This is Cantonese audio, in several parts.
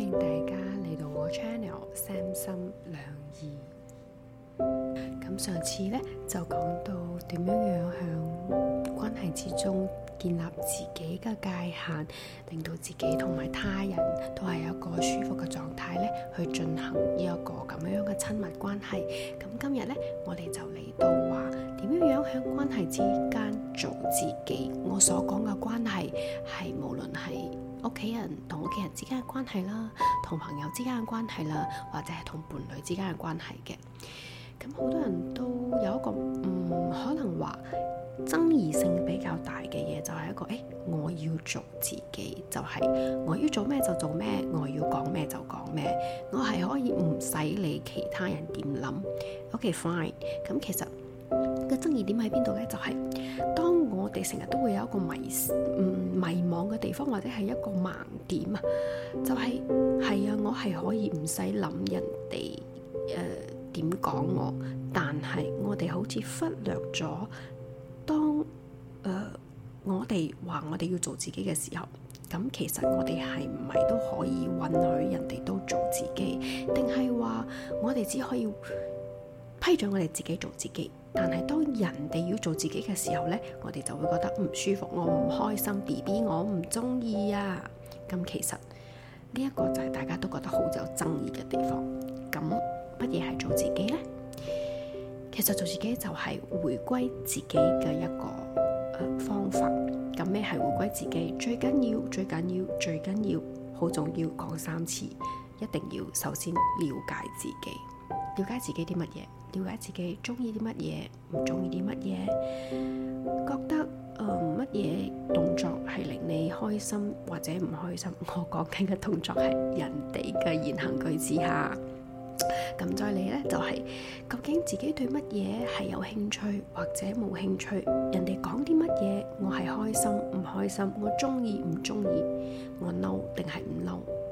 迎大家嚟到我 channel 三心兩意。咁上次呢，就講到點樣向關係之中建立自己嘅界限，令到自己同埋他人都係一個舒服嘅狀態呢，去進行呢一個咁樣嘅親密關係。咁今日呢，我哋就嚟到話點樣向關係之間做自己。我所講嘅關係係無論係屋企人同屋企人之間嘅關係啦，同朋友之間嘅關係啦，或者係同伴侶之間嘅關係嘅。咁好多人都有一個可能話爭議性比較大嘅嘢，就係一個我要做自己，就係我要做咩就做咩，我要講咩就講咩，我係可以唔使理其他人點諗。OK fine。咁其實個爭議點喺邊度呢？就係當我哋成日都會有一個迷惘嘅地方，或者係一個盲點啊，就係我係可以唔使諗人哋點講我，但係我哋好似忽略咗，當我哋話我哋要做自己嘅時候，咁其實我哋係唔係都可以允許人哋都做自己，定係話我哋只可以批准我哋自己做自己，但係當人哋要做自己嘅時候呢，我哋就會覺得唔舒服，我唔開心 ，BB 我唔中意啊。咁其實呢一個就係大家都覺得好有爭議嘅地方。咁乜嘢係做自己呢？其實做自己就係回歸自己嘅一個方法。咁咩係回歸自己？最緊要好重要，講3次，一定要首先了解自己。了解自己啲乜嘢？了解自己中意啲乜嘢，唔中意啲乜嘢，覺得乜嘢動作係令你開心或者唔開心。我講緊嘅動作係人哋嘅言行舉止下。咁再嚟呢，就係究竟自己對乜嘢係有興趣或者冇興趣？人哋講啲乜嘢，我係開心唔開心？我中意唔中意？我嬲定係唔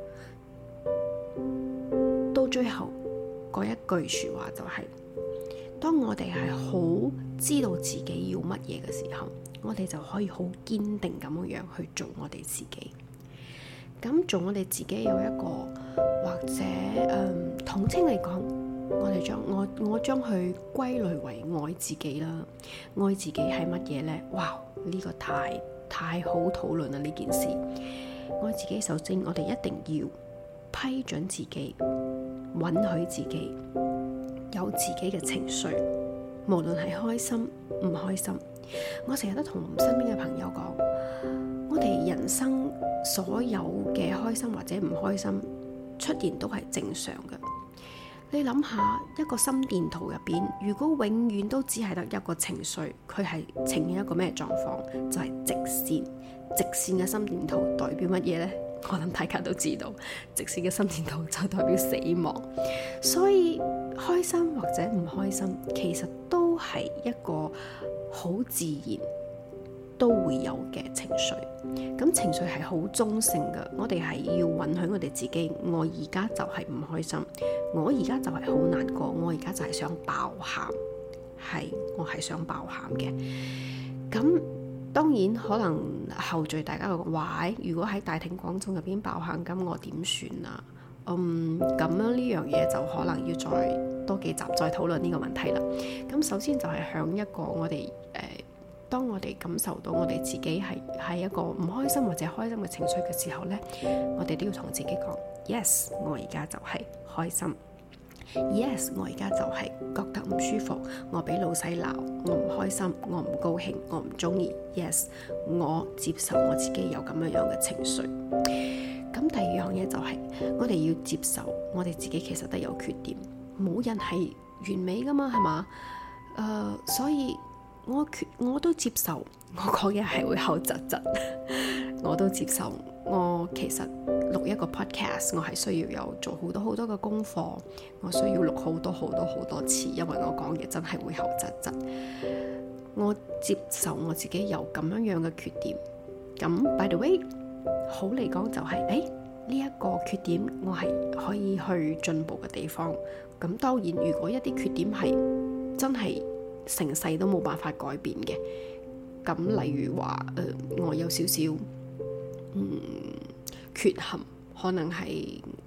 嬲？到最後嗰一句說話就係，當我哋係好知道自己要乜嘢嘅時候，我哋就可以好堅定咁樣去做我哋自己。咁做我哋自己有一個或者統稱嚟講，我將佢歸類為愛自己啦。愛自己係乜嘢呢？哇！呢個太好討論啦呢件事。愛自己，首先我哋一定要批准自己，允許自己有自己嘅情緒，無論係開心唔開心。我成日都同身邊嘅朋友講，我哋人生所有嘅開心或者唔開心出現都係正常嘅。你諗下一個心電圖入邊，如果永遠都只係得一個情緒，佢係呈現一個咩狀況？就係直線。直線嘅心電圖代表乜嘢呢？我諗大家都知道，直線嘅心電圖就代表死亡。所以開心或者唔開心，其實都係一個好自然都會有嘅情緒。咁情緒係好中性嘅，我哋係要允許我哋自己。我而家就係唔開心，我而家就係好難過，我而家就係想爆喊，我係想爆喊嘅。咁當然可能後續大家會話，如果喺大庭廣眾入邊爆喊，咁我點算啊？咁樣呢樣嘢就可能要再多幾集再討論呢個問題啦。咁首先就係向一個我哋當我哋感受到我哋自己係一個唔開心或者開心嘅情緒嘅時候呢，我哋都要同自己講 Yes， 我而家就係開心。Yes， 我而家就係覺得唔舒服，我俾老細鬧，我唔開心，我唔高興，我唔中意。Yes， 我接受我自己有咁樣嘅情緒。咁第二樣嘢就係我哋要接受我哋自己其實都有缺點，冇人係完美噶嘛，係嘛？所以我都接受，我講嘢係會口窒窒，我都接受。我其實錄一個 podcast， 我係需要有做好多嘅功課，我需要錄好多次，因為我講嘢真係會口窒窒。我接受我自己有咁樣嘅缺點。咁 by the way， 好嚟講就係呢一個缺點我係可以去進步嘅地方。咁當然如果一啲缺點係真係成世都冇辦法改變嘅，咁例如話我有少少缺陷，可能係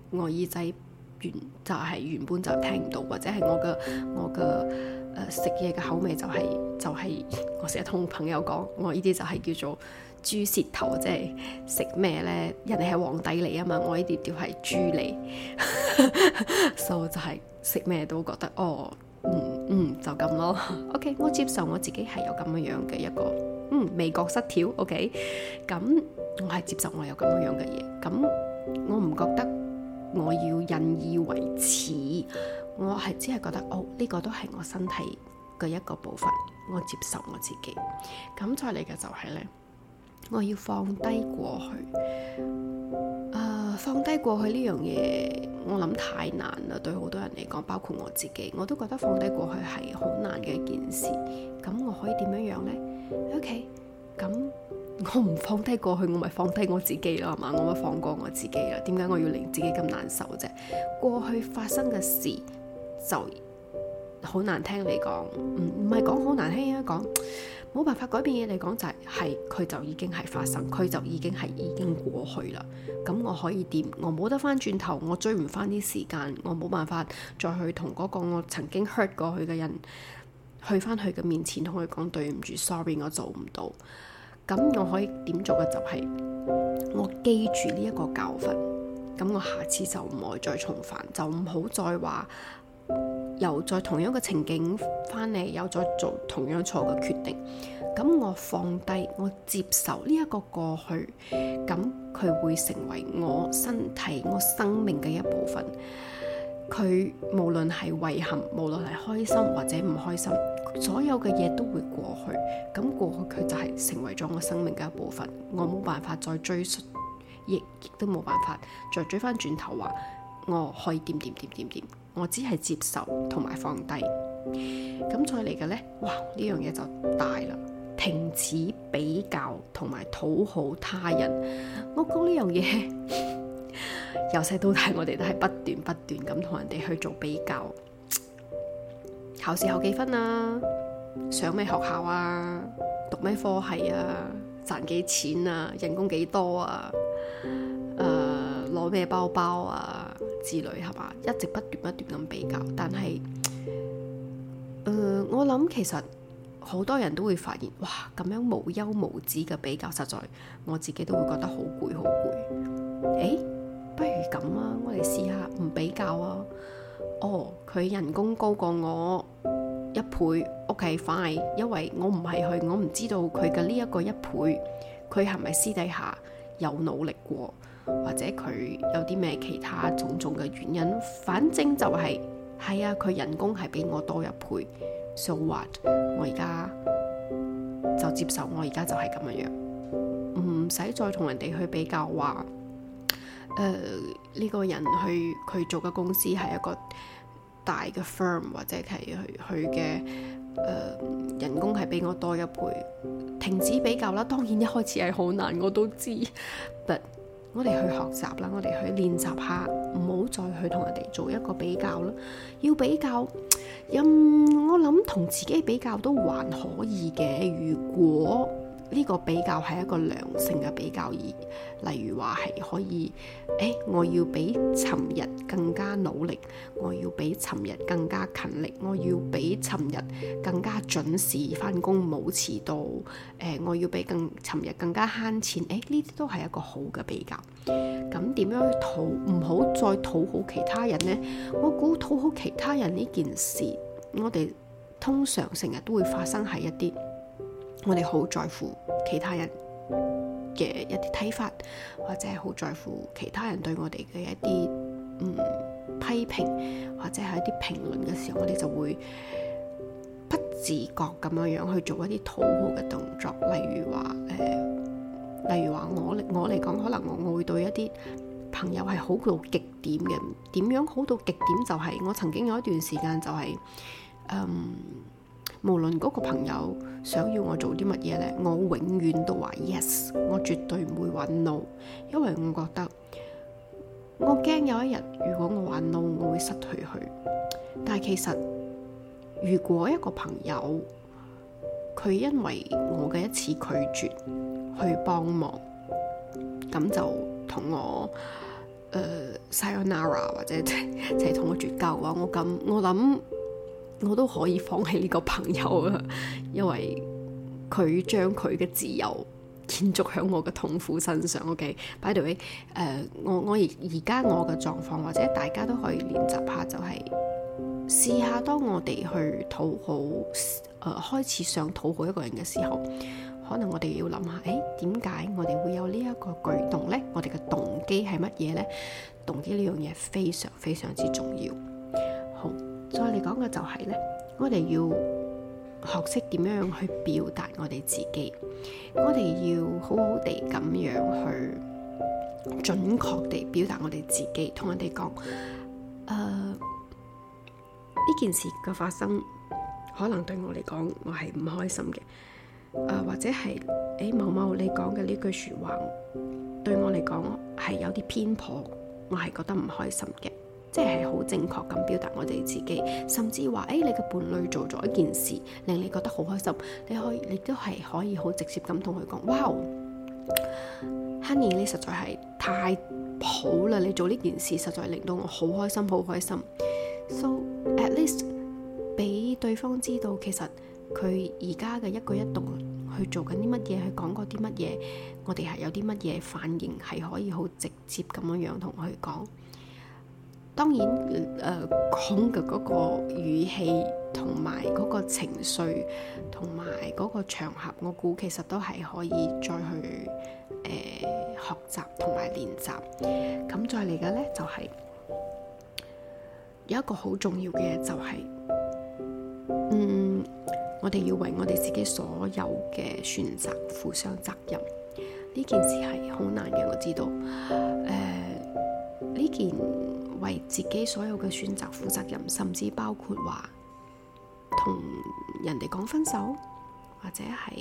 我耳仔原本就聽唔到，或者係我嘅食嘢嘅口味就係我成日同朋友講，我呢啲就係叫做豬舌頭，即係食咩呢？人哋係皇帝嚟啊嘛，我呢啲叫係豬嚟，所以就係食咩都覺得就咁咯。OK， 我接受我自己係有咁樣嘅一個味覺失調。OK， 咁我係接受我有咁樣嘅嘢，咁我唔覺得我要引以為恥，我係只係覺得呢個都係我身體嘅一個部分，我接受我自己。咁再嚟嘅就係呢，我要放低過去。放低過去呢樣嘢，我諗太難啦，對好多人嚟講，包括我自己，我都覺得放低過去係好難嘅一件事。咁我可以點樣樣呢？ OK， 咁我唔放低過去，我咪放低我自己啦，係嘛？我咪放過我自己啦。點解我要令自己咁難受啫？過去發生嘅事就好難聽嚟講，唔係講好難聽啊，講冇辦法改變嘢嚟講，就係佢就已經係發生，佢就已經過去啦。咁我可以點？我冇得翻轉頭，我追唔翻啲時間，我冇辦法再去同嗰個我曾經 hurt 過去嘅人去翻佢嘅面前，同佢講對唔住 ，sorry， 我做唔到。咁我可以點做嘅就係我記住呢一個教訓，咁我下次就唔會再重犯，就唔好再話又再同樣嘅情景翻嚟，又再做同樣錯嘅決定。咁我放低，我接受呢一個過去，咁佢會成為我身體、我生命嘅一部分。佢無論係遺憾，無論係開心或者唔開心，所有嘅嘢都會過去。咁過去佢就係成為咗我生命嘅一部分，我冇辦法再追溯，亦都冇辦法再追翻轉頭話我可以點，我只係接受同埋放低。咁再嚟嘅呢，哇！呢樣嘢就大啦，停止比較同埋討好他人。我講呢樣嘢，由細到大我哋都係不斷咁同人哋去做比較，考試考幾分啊，上咩學校啊，讀咩科系啊，賺幾錢啊，人工幾多啊，攞咩包包啊之類，係嘛？一直不斷咁比較，但係我諗其實好多人都會發現，哇，咁樣無休無止嘅比較，實在我自己都會覺得好攰。不如咁啊，我哋試下唔比較啊。佢人工高過我1倍，OK fine，因為我唔係佢，我唔知道佢嘅呢一個1倍，佢係咪私底下有努力過，或者佢有啲咩其他種種嘅原因，反正就係啊，佢人工係比我多1倍，so what？ 我而家就接受，我而家就係咁樣，唔使再同人哋去比較話，呢個人佢做嘅公司係一個大嘅 firm， 或者係佢嘅人工係比我多1倍，停止比較啦。當然一開始係好難，我都知，but我哋去學習啦，我哋去練習下，唔好再去同人哋做一個比較啦。要比較，我諗同自己比較都還可以嘅。如果呢個比較係一個良性嘅比較，例如話係可以，我要比尋日更加努力，我要比尋日更加勤力，我要比尋日更加準時翻工冇遲到，我要比尋日更加慳錢，呢啲都係一個好嘅比較。咁點樣唔好再討好其他人呢？我估討好其他人呢件事，我哋通常成日都會發生喺一啲我哋好在乎其他人嘅一啲睇法，或者係好在乎其他人對我哋嘅一啲批評，或者係一啲評論嘅時候，我哋就會不自覺咁樣去做一啲討好嘅動作。例如話我嚟講，可能我會對一啲朋友係好到極點嘅。點樣好到極點？就係我曾經有一段時間就係無論嗰個朋友想要我做啲乜嘢呢，我永遠都話 yes， 我絕對唔會話 no， 因為我覺得我驚有一日如果我話 no， 我會失去佢。但係其實如果一個朋友佢因為我嘅一次拒絕去幫忙，咁就同我 sayonara 或者就係同我絕交嘅話，我諗我都可以放棄呢個朋友啊，因為佢將佢嘅自由建築喺我嘅痛苦身上。OK，by the way，我而家我嘅狀況，或者大家都可以練習下，就係試下當我哋去討好，開始想討好一個人嘅時候，可能我哋要諗下，點解我哋會有呢一個舉動呢？我哋嘅動機係乜嘢呢？動機呢樣嘢非常非常之重要。好，再嚟講嘅就係呢，我哋要學識點樣去表達我哋自己，我哋要好好地咁樣去準確地表達我哋自己，同人哋講，呢件事嘅發生，可能對我嚟講，我係唔開心嘅，或者係某某你講嘅呢句說話，對我嚟講係有啲偏頗，我係覺得唔開心嘅，即係好正確咁表達我哋自己，甚至話你嘅伴侶做咗一件事令你覺得好開心，你都係可以好直接咁同佢講，哇 Honey 你實在係太好啦，你做呢件事實在令到我好開心，好開心。So at least 俾對方知道，其實佢而家嘅一舉一動去做緊啲乜嘢，去講過啲乜嘢，我哋係有啲乜嘢反應，係可以好直接咁樣同佢講。當然講嘅嗰個語氣同埋嗰個情緒同埋嗰個場合，我估其實都係可以再去學習同埋練習。咁再嚟嘅呢，就係有一個好重要嘅，就係我哋要為我哋自己所有嘅選擇負上責任。呢件事係好難嘅，我知道。呢件為自己所有嘅選擇負責任，甚至包括話同人哋講分手，或者係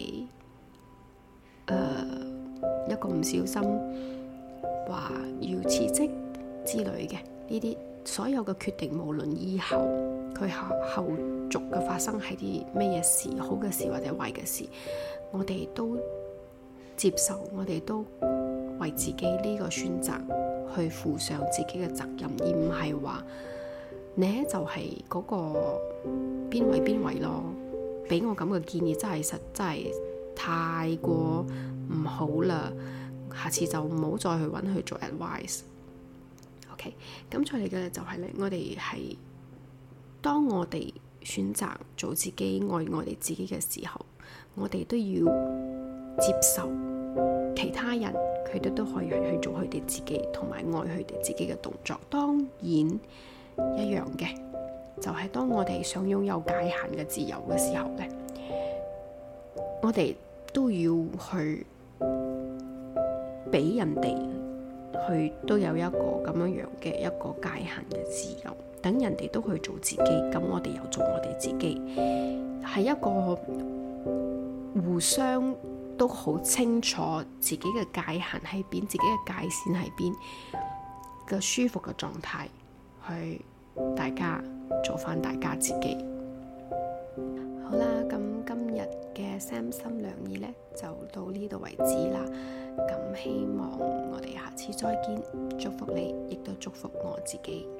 一個唔小心話要辭職之類嘅呢啲所有嘅決定，無論以後佢後續嘅發生係啲咩嘢事，好嘅事或者壞嘅事，我哋都接受，我哋都為自己呢個選擇去負上自己嘅責任，而唔係話你就係嗰個邊位咯。俾我咁嘅建議真係太過唔好啦，下次就唔好再去揾佢做 advice。OK， 咁再嚟嘅就係咧，我哋係當我哋選擇做自己，愛我哋自己嘅時候，我哋都要接受其他人佢哋都可以去做佢哋自己，同埋愛佢哋自己嘅動作。當然一樣嘅就係當我哋想擁有界限嘅自由嘅時候呢，我哋都要去俾人哋去都有一個咁樣嘅一個界限嘅自由，等人哋都去做自己，咁我哋又做我哋自己，係一個互相都好清楚自己嘅界限喺邊，自己嘅界線喺邊嘅舒服嘅狀態，去大家做翻大家自己。好啦，咁今日嘅三心兩意呢，就到呢度為止啦。咁希望我哋下次再見，祝福你，亦都祝福我自己。